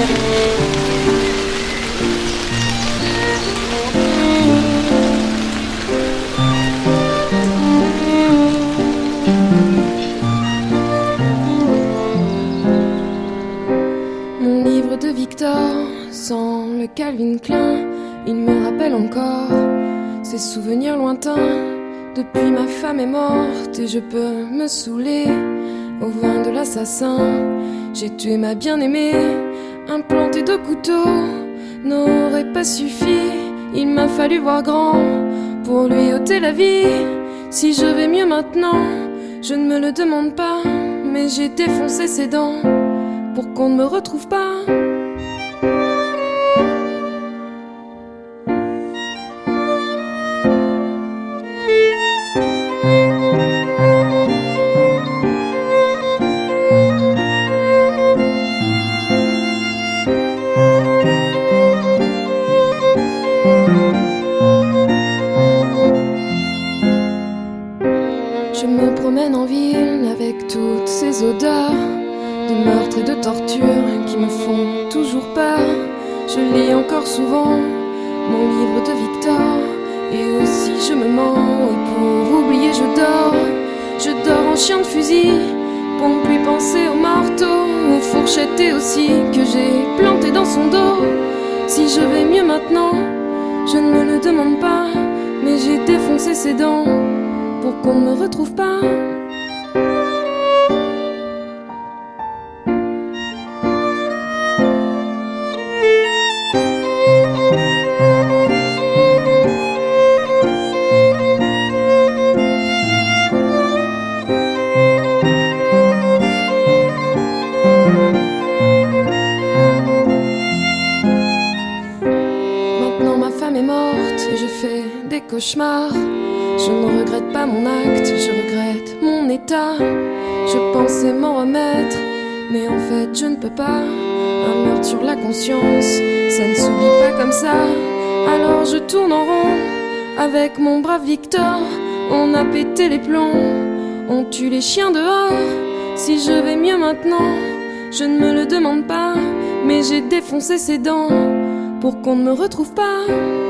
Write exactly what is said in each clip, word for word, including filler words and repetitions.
Sans le Calvin Klein, il me rappelle encore ces souvenirs lointains. Depuis ma femme est morte et je peux me saouler au vin de l'assassin. J'ai tué ma bien-aimée, implanté deux couteaux n'aurait pas suffi. Il m'a fallu voir grand pour lui ôter la vie. Si je vais mieux maintenant, je ne me le demande pas, mais j'ai défoncé ses dents pour qu'on ne me retrouve pas. Je me promène en ville avec toutes ces odeurs de meurtre et de torture qui me font toujours peur. Je lis encore souvent mon livre de Victor, et aussi je me mens, et pour oublier je dors. Je dors en chien de fusil pour ne plus penser aux marteaux, aux fourchettes et aussi que j'ai planté dans son dos. Si je vais mieux maintenant, je ne me le demande pas, mais j'ai défoncé ses dents pour qu'on ne me retrouve pas. Maintenant ma femme est morte et je fais des cauchemars. Je ne regrette pas mon acte, je regrette mon état. Je pensais m'en remettre, mais en fait je ne peux pas. Un meurtre sur la conscience, ça ne s'oublie pas comme ça. Alors je tourne en rond avec mon brave Victor. On a pété les plombs, on tue les chiens dehors. Si je vais mieux maintenant, je ne me le demande pas, mais j'ai défoncé ses dents pour qu'on ne me retrouve pas.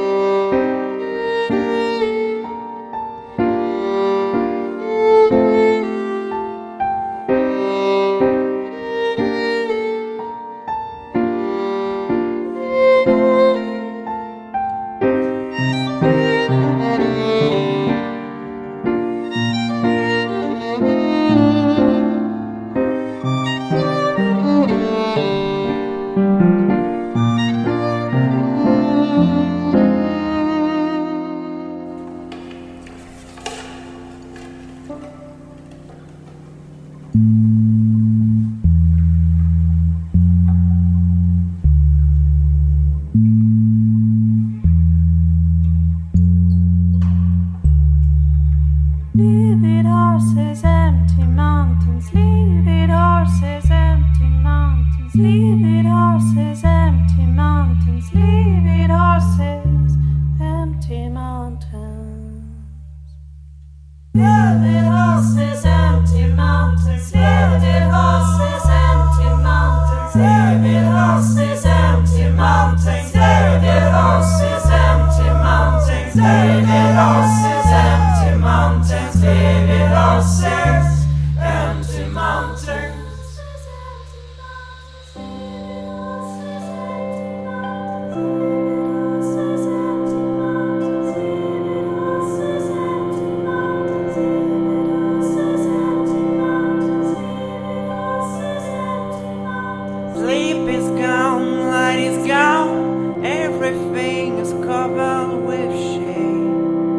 Leave it horses, empty mountains. Leave it horses, empty mountains. Leave it horses, empty mountains. Leave it horses, empty mountains. Leave it horses, empty mountains. Leave it horses, empty mountains. Leave it horses, empty mountains. Leave it horses, empty mountains. Leave it horses, empty mountains. Leave it horses, empty mountains. Sleep is gone, light is gone, everything is covered with shame.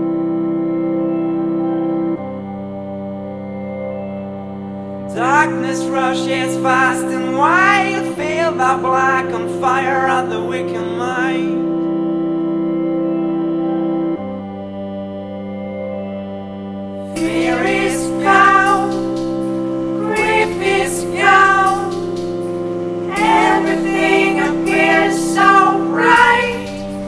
Darkness rushes fast and wild, feel the black on fire at the wicked mind. Fear is gone, grief is gone, everything appears so bright.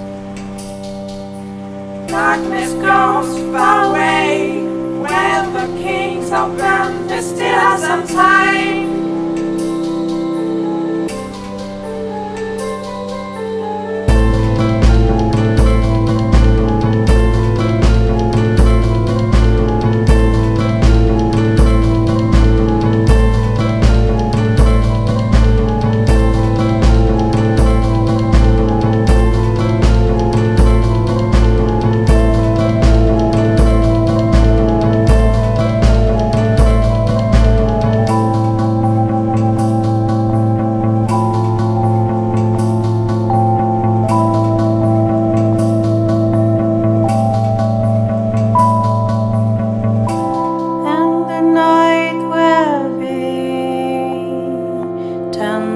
Darkness goes far away, where the kings open, there's still some time.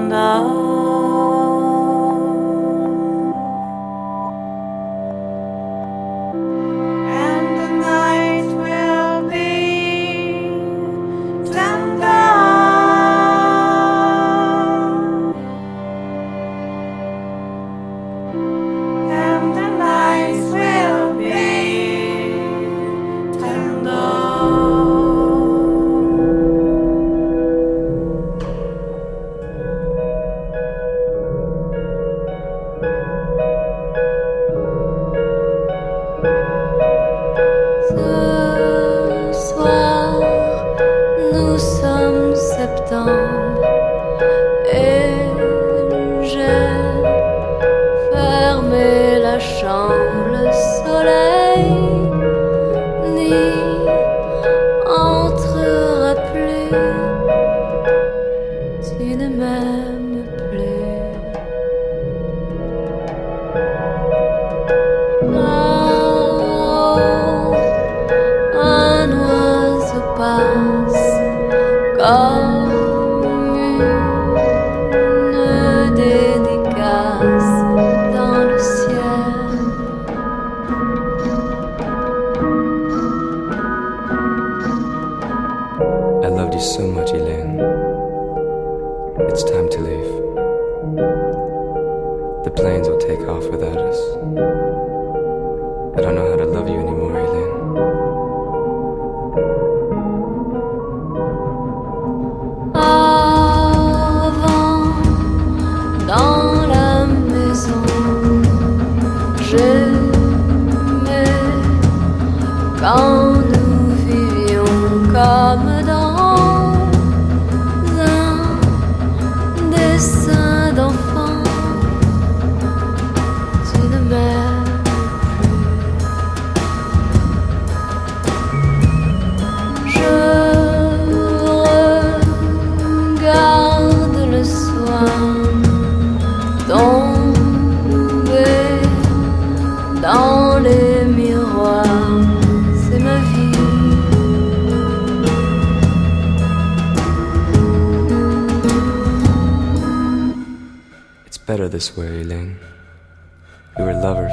Better this way, Elaine. We were lovers,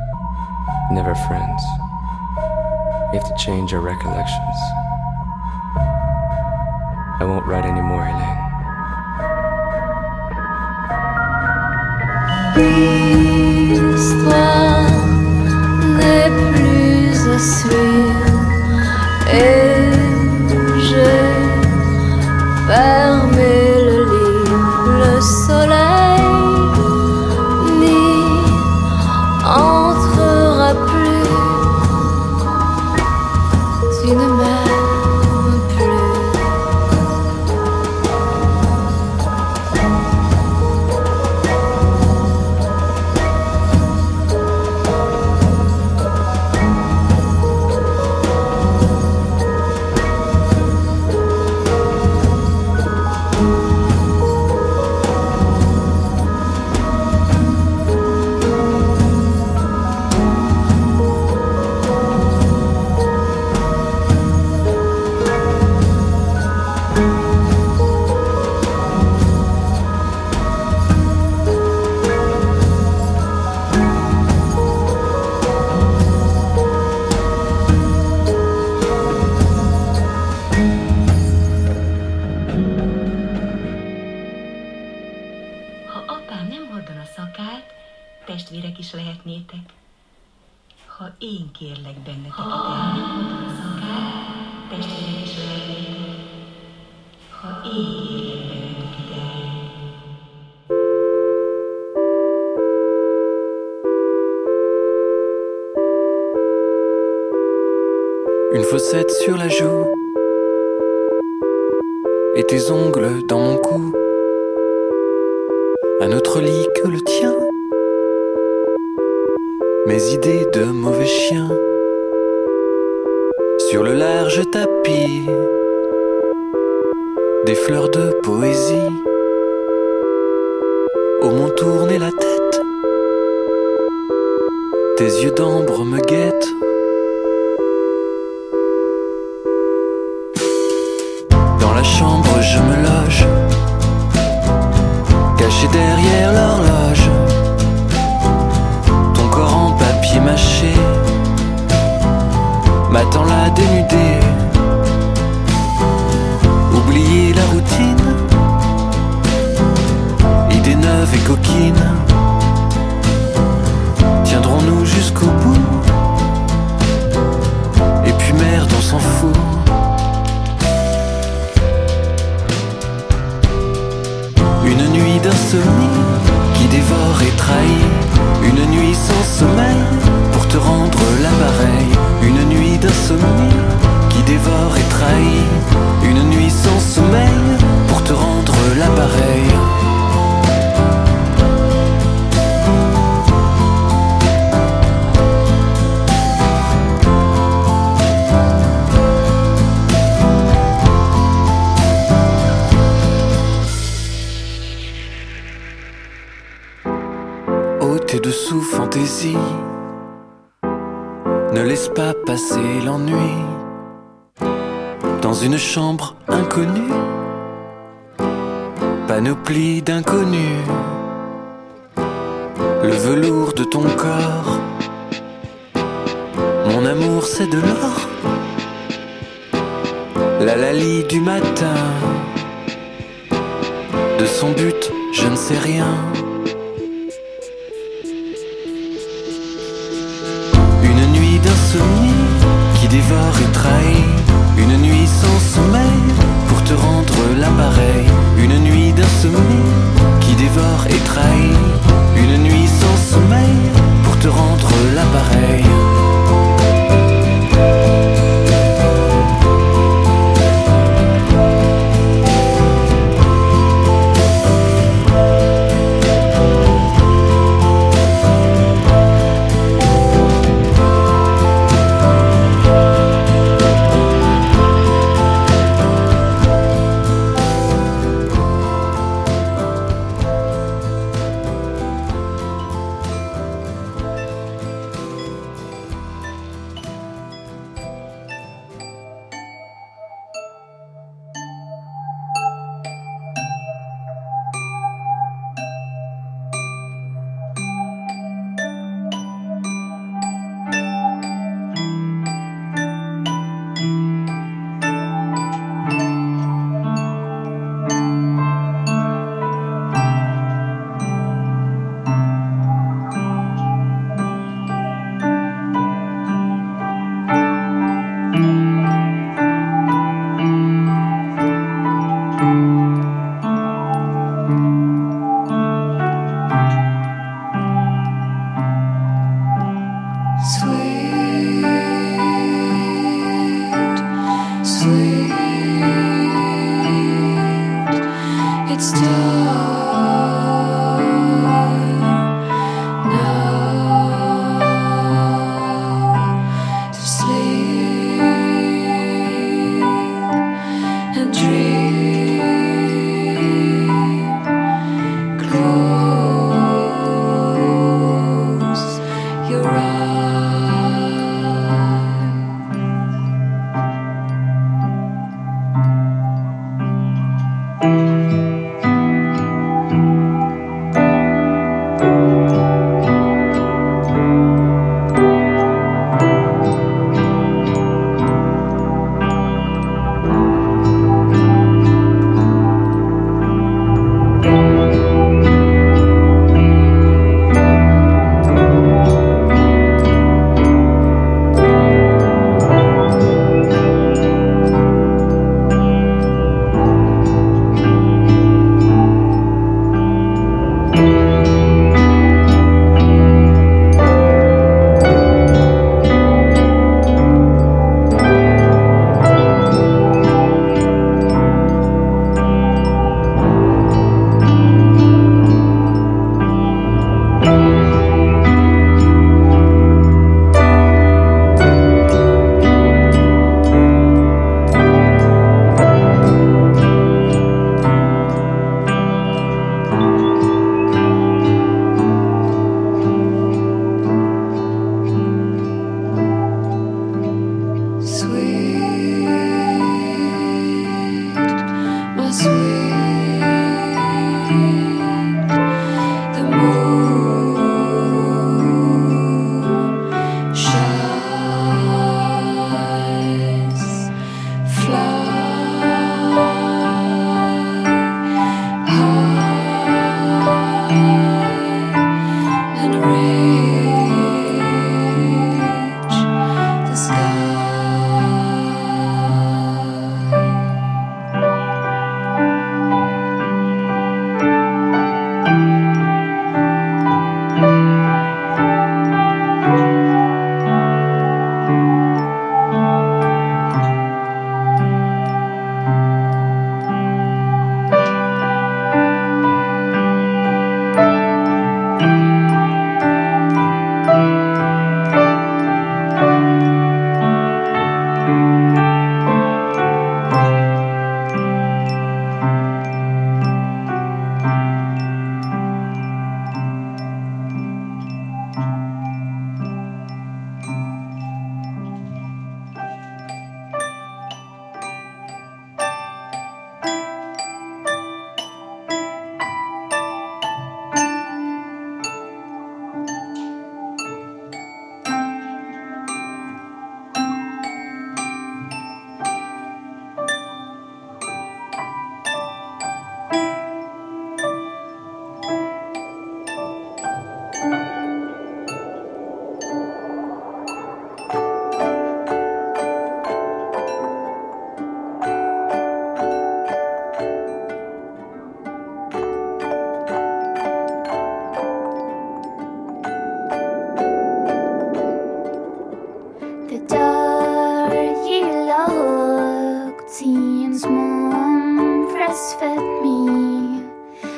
never friends. We have to change our recollections. I won't write anymore, Elaine. L'histoire n'est plus à suivre et j'ai fermé le livre, le soleil entrera plus, tu ne m'aimes plus. testvérek is lehetnétek, ha én kérlek benneteket elmondani a szakát, testvérek is lehetnétek, ha én kérlek benneteket elmondani. Une fossette sur la joue et tes ongles dans mon cou. Un autre lit que le tien, mes idées de mauvais chien. Sur le large tapis, des fleurs de poésie. Au mont tourner la tête, tes yeux d'ambre me guettent. Dans la chambre je me loge, caché derrière l'horloge, ton corps en papier mâché m'attend là dénudé. Oublier la routine, idées neuves et coquines, tiendrons-nous jusqu'au bout? Et puis merde, on s'en fout. Une nuit d'insomnie qui dévore et trahit, une nuit sans sommeil pour te rendre l'appareil. Une nuit d'insomnie qui dévore et trahit, une nuit sans sommeil pour te rendre l'appareil. Tes dessous fantaisie, ne laisse pas passer l'ennui dans une chambre inconnue, panoplie d'inconnus, le velours de ton corps. Mon amour c'est de l'or, la Lali du matin, de son but je ne sais rien. D'insomnie qui dévore et trahit, une nuit sans sommeil pour te rendre l'appareil. Une nuit d'insomnie qui dévore et trahit, une nuit sans sommeil pour te rendre l'appareil.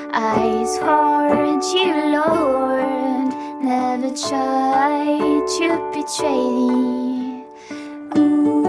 I swore to you, Lord, never try to betray thee. Ooh.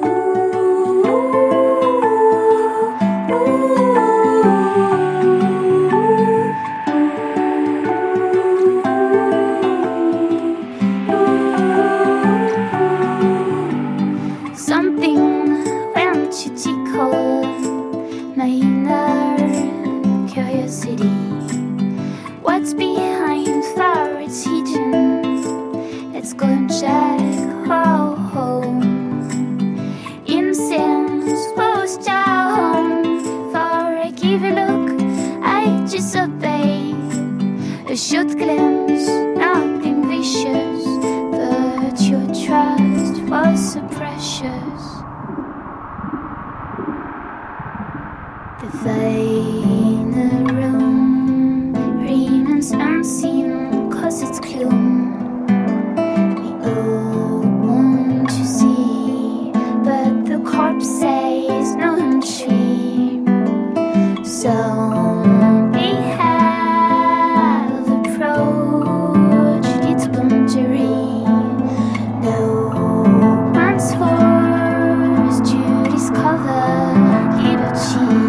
What's behind fire? It's hidden. Let's go and check. Oh, oh. Incense goes down. For I give a look, I disobey. A short glance, nothing vicious, but your trust was so precious. The final room remains unseen, cause it's gloom. We all want to see, but the corpse says no entry. So we have approached its boundary. No one's forced to discover liberty.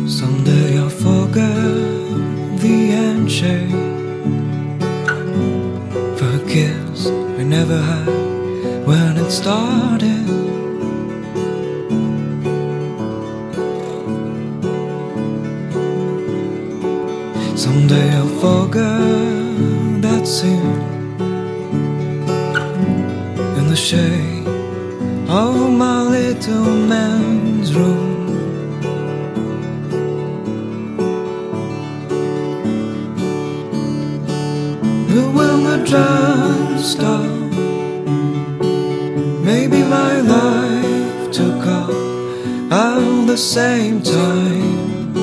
Someday I'll forget the handshake for a kiss we never had when it started. Someday I'll forget that scene in the shade of my little man's room. But when the drum stopped, maybe my life took off at the same time.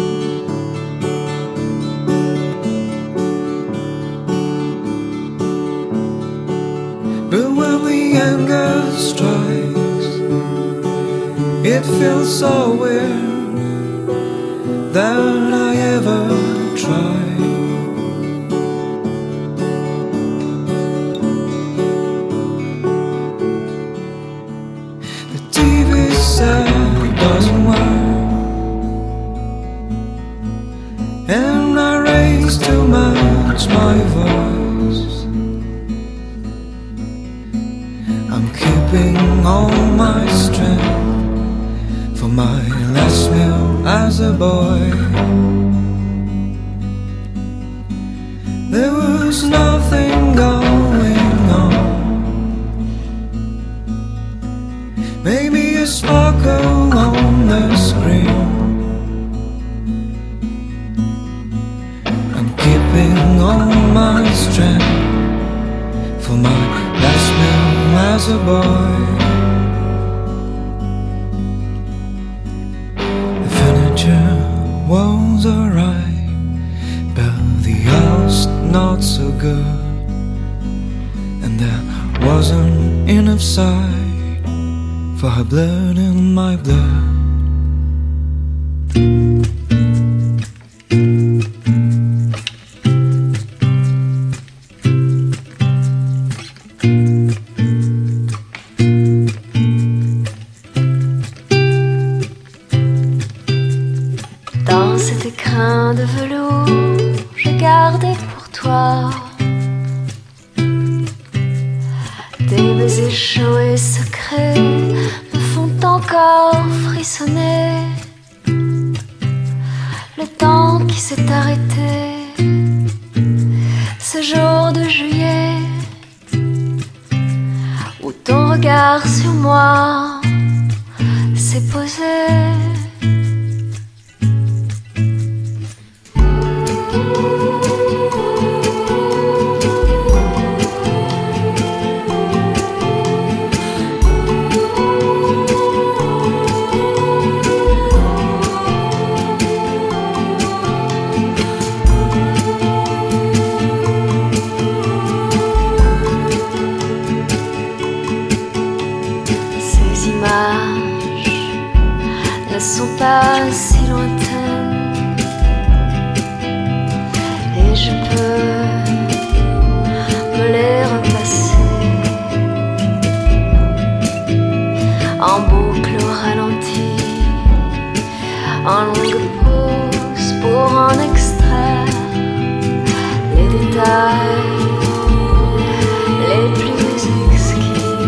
But when the anger strikes, it feels so weird that I ever tried. Doesn't work, and I raise too much my voice. I'm keeping all my strength for my last meal as a boy. There was nothing going on, maybe a sparkle on the screen. I'm keeping all my strength for my last meal as a boy. The furniture was alright, but the house not so good, and there wasn't enough sight for her blood in my blood. Dans cet écrin de velours, je gardais pour toi des baisers chauds et secrets me font encore frissonner. Le temps qui s'est arrêté, ce jour de juillet, où ton regard sur moi s'est posé. Ne sont pas si lointaines, et je peux me les repasser en boucle au ralenti, en longue pause pour en extraire les détails les plus exquis.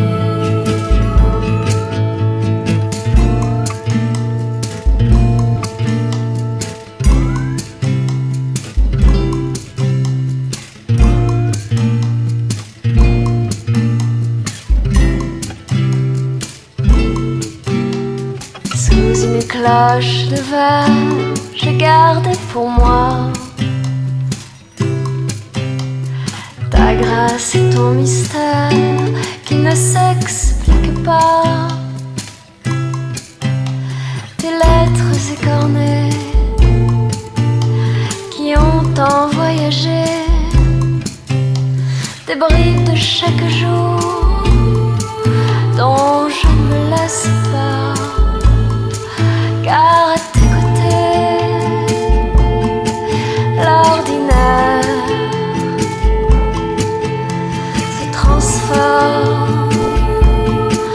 Une cloche de verre, je gardais pour moi ta grâce et ton mystère qui ne s'explique pas. Tes lettres écornées qui ont tant voyagé, des bribes de chaque jour dont je ne me lasse pas. Car à tes côtés, l'ordinaire se transforme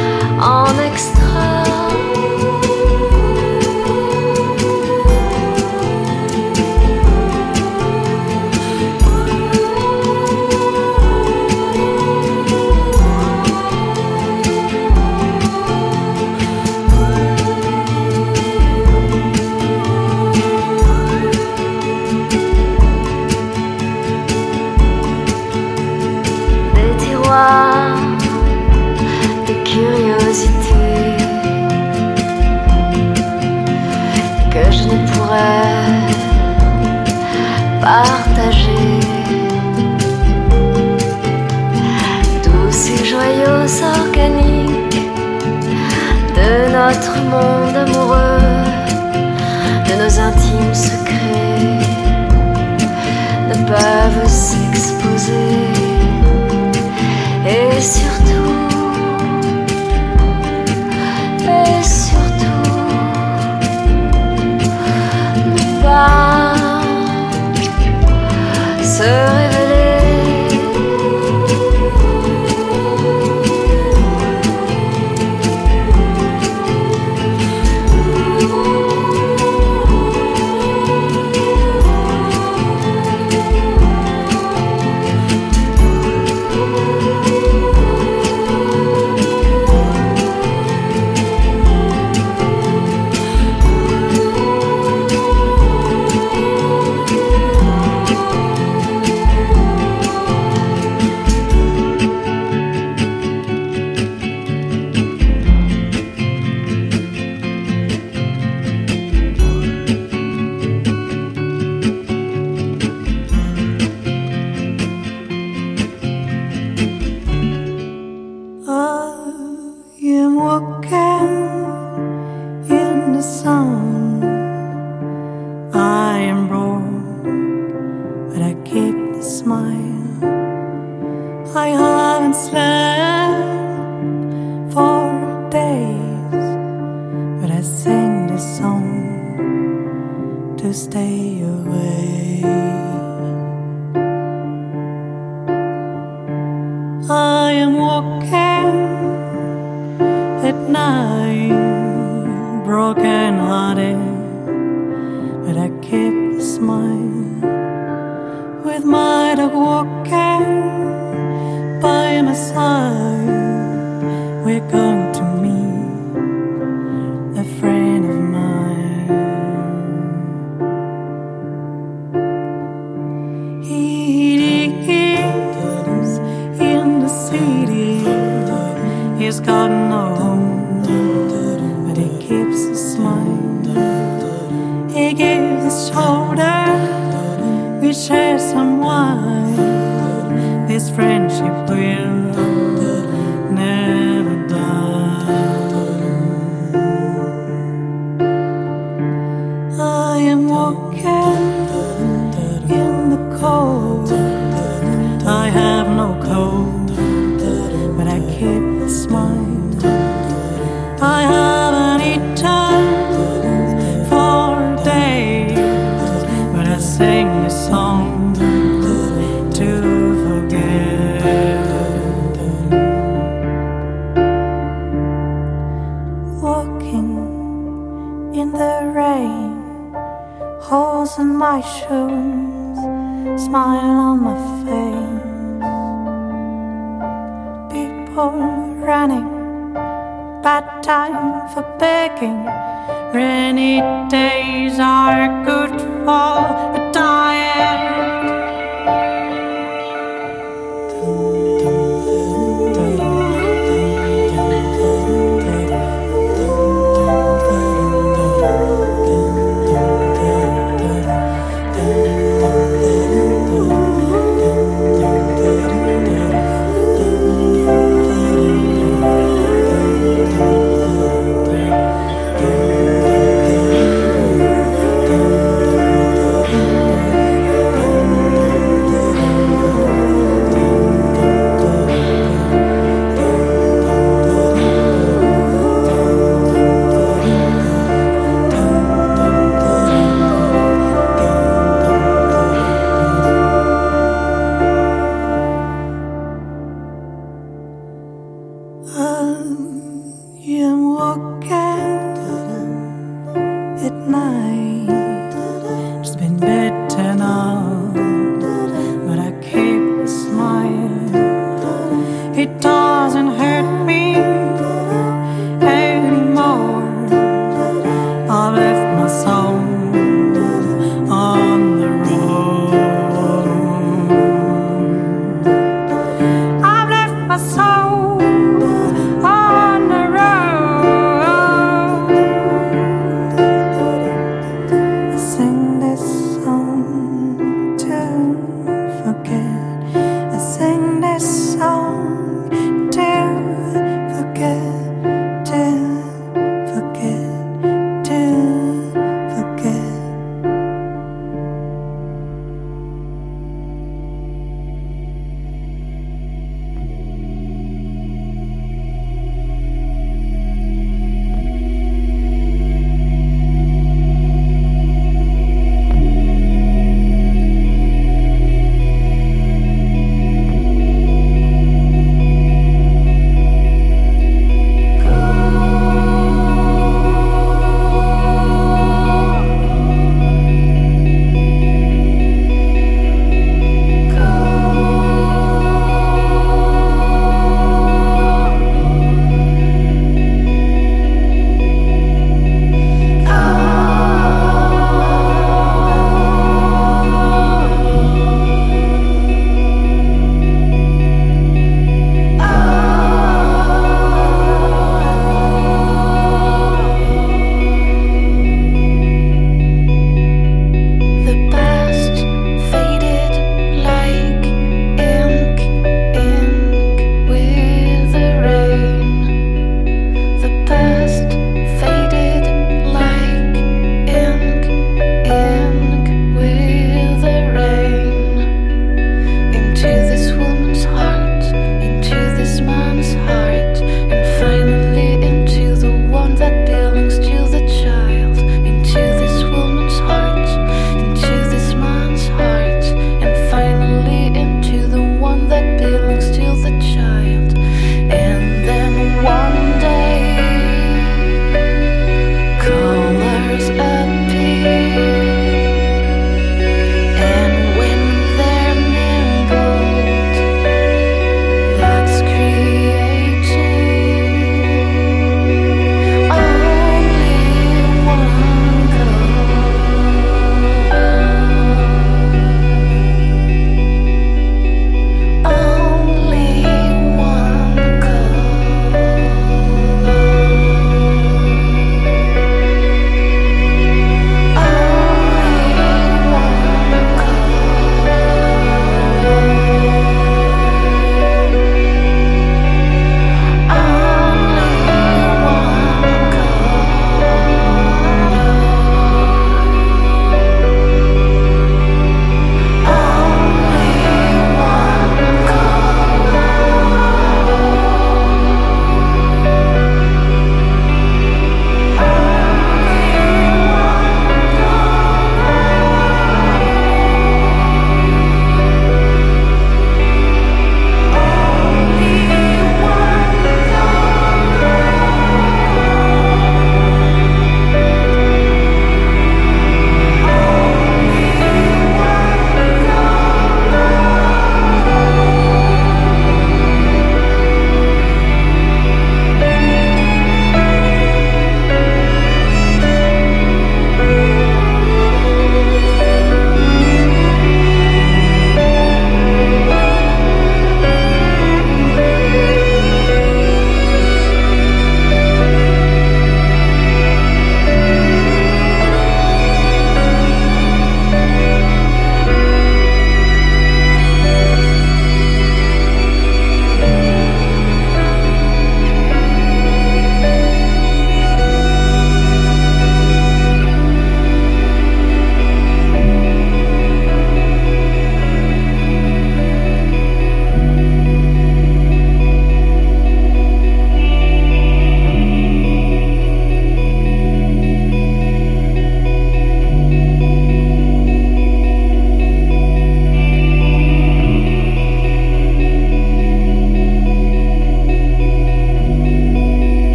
en extra. ne pourrais partager tous ces joyaux organiques de notre monde amoureux, de nos intimes secrets ne peuvent s'exposer. Et surtout, et surtout, ne pas se révéler.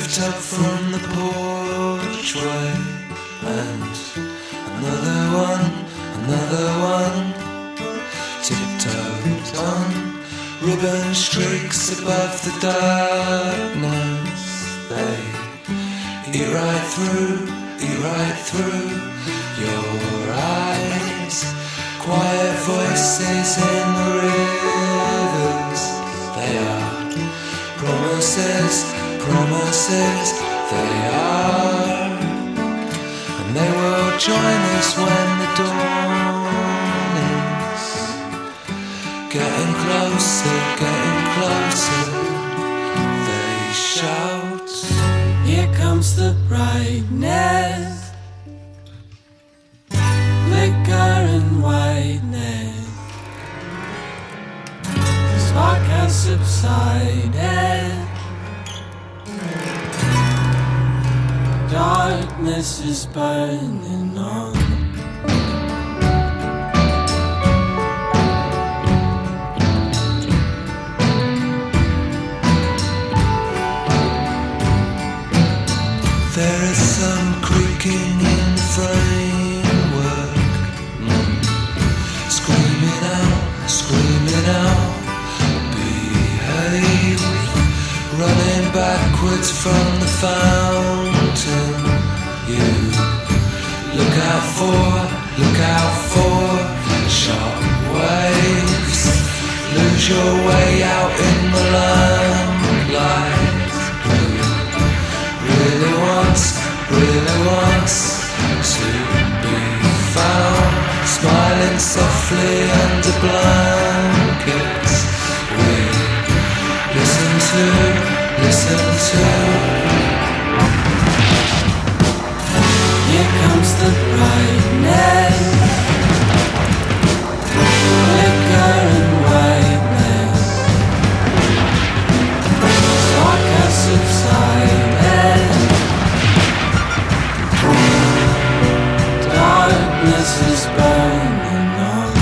looked up from the porchway, and another one, another one, tiptoed on ribbon streaks above the darkness. They eat right through, eat right through your eyes. Quiet voices in the rivers. They are promises, promises. They are, and they will join us when the dawn is getting closer, getting closer. They shout, here comes the brightness. Flicker and whiteness. Spark has subsided. Darkness is burning on. There is some creaking in the framework, mm. Screaming out, screaming out, behave. Running backwards from the fountain. You look out for, look out for sharp waves. Lose your way out in the lamplight. Really wants, really wants to be found, smiling softly under blankets. We listen to, listen to. Here comes the brightness, flicker and whiteness. Spark has subsided. Darkness is burning on.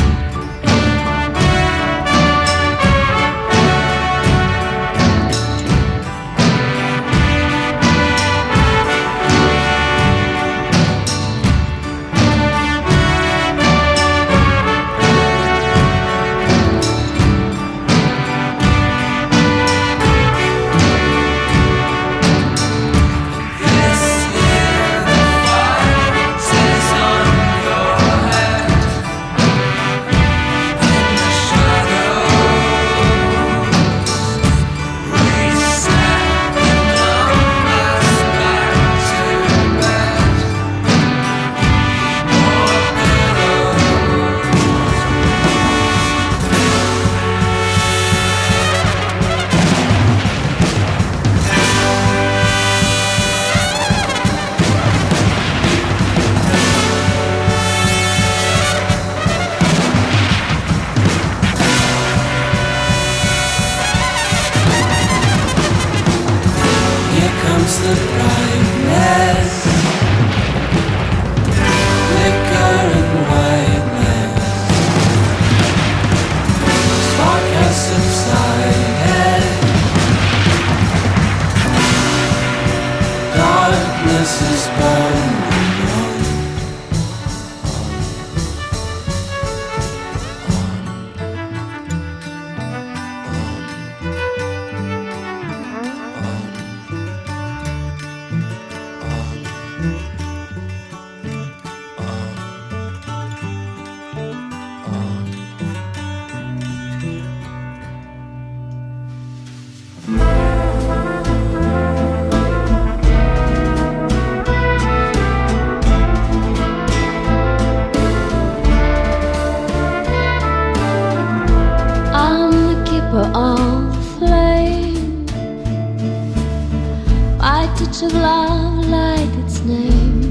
Of love light its name.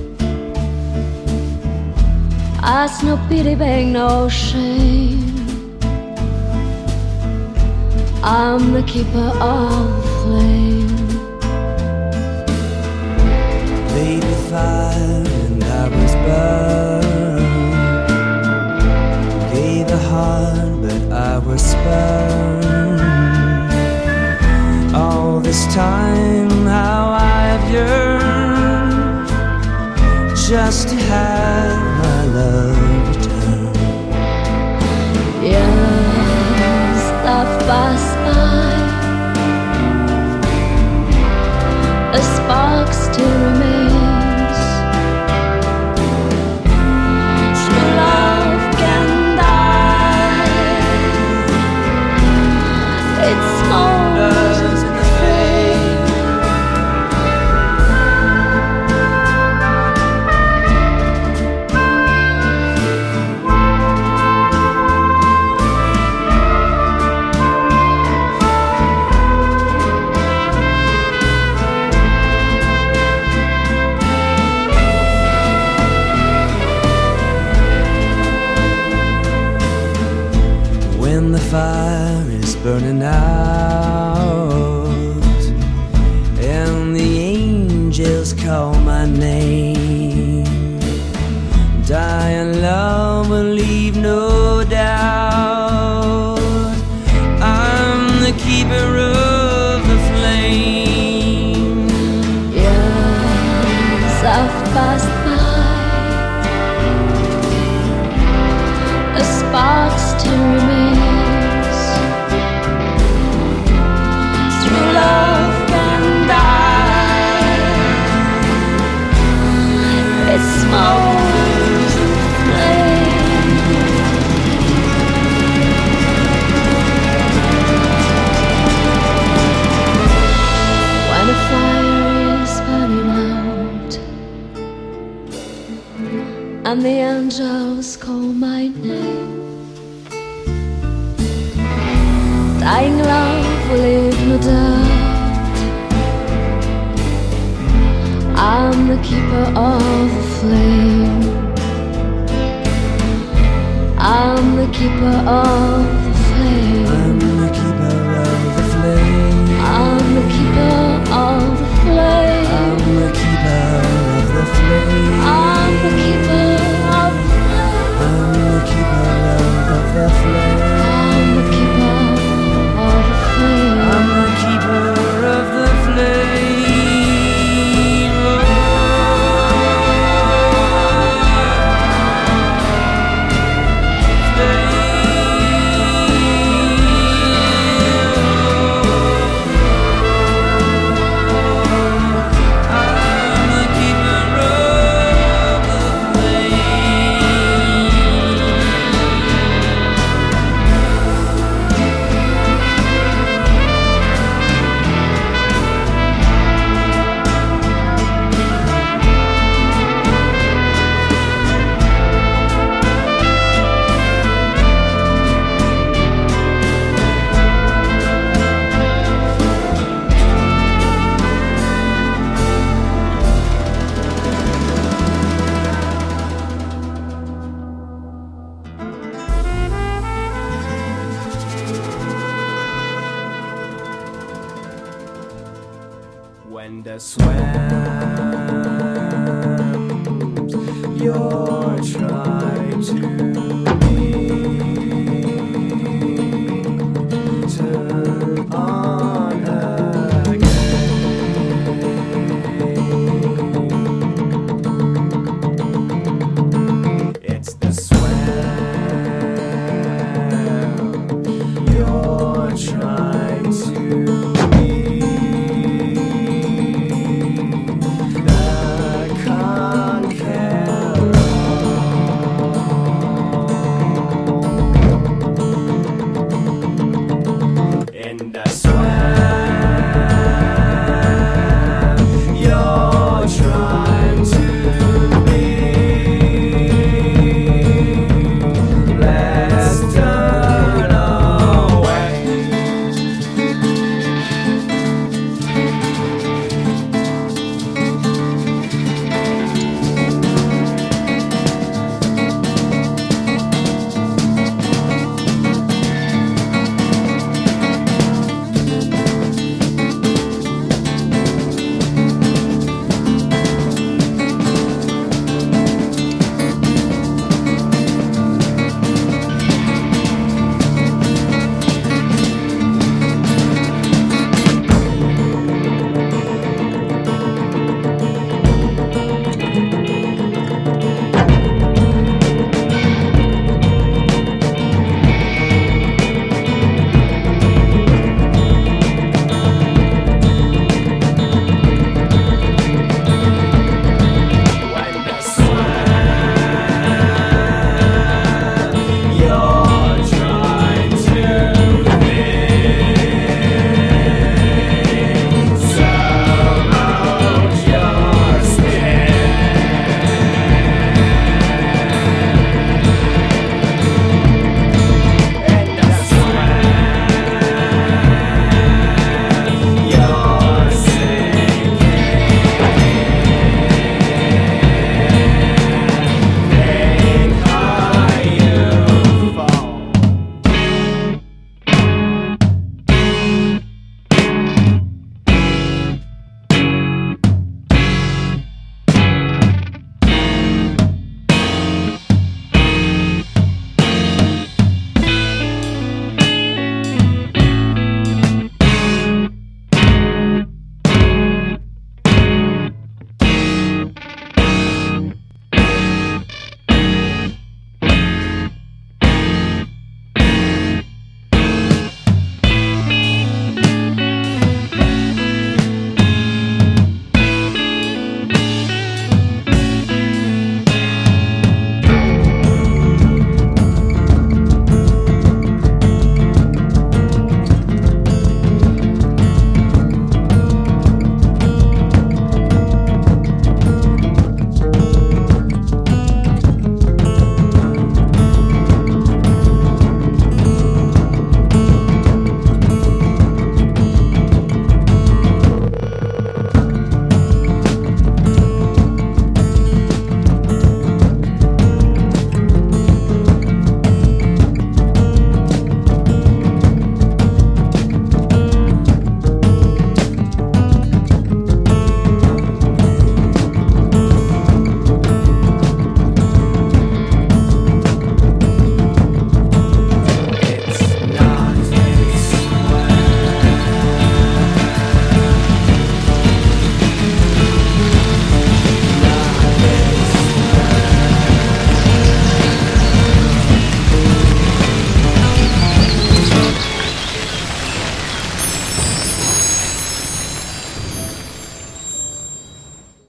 Ask no pity, beg no shame. I'm the keeper of flame. Played with fire and I was burned. Gave a heart but I was spurned. All this time how must have my love return. Years that pass by, a spark still remains. True love can die. It smolders in the flame. When the fire is burning out and the angels call my name, dying love will leave no doubt. I'm the keeper of the flame. Years have passed by, a spark still remains. True love can die. It smolders in flame. When a fire is burning out and the angels call my name, dying love will leave no doubt. I'm the keeper of the flame. I'm the keeper of the flame. I'm the keeper of the flame. I'm the keeper of the flame. I'm the keeper of the flame. I'm the keeper of the flame. I'm the keeper of the flame. I'm the keeper of the flame. I'm the keeper of the flame. When the swams you're trying to be, turn on again. It's the swam you're trying to be. In the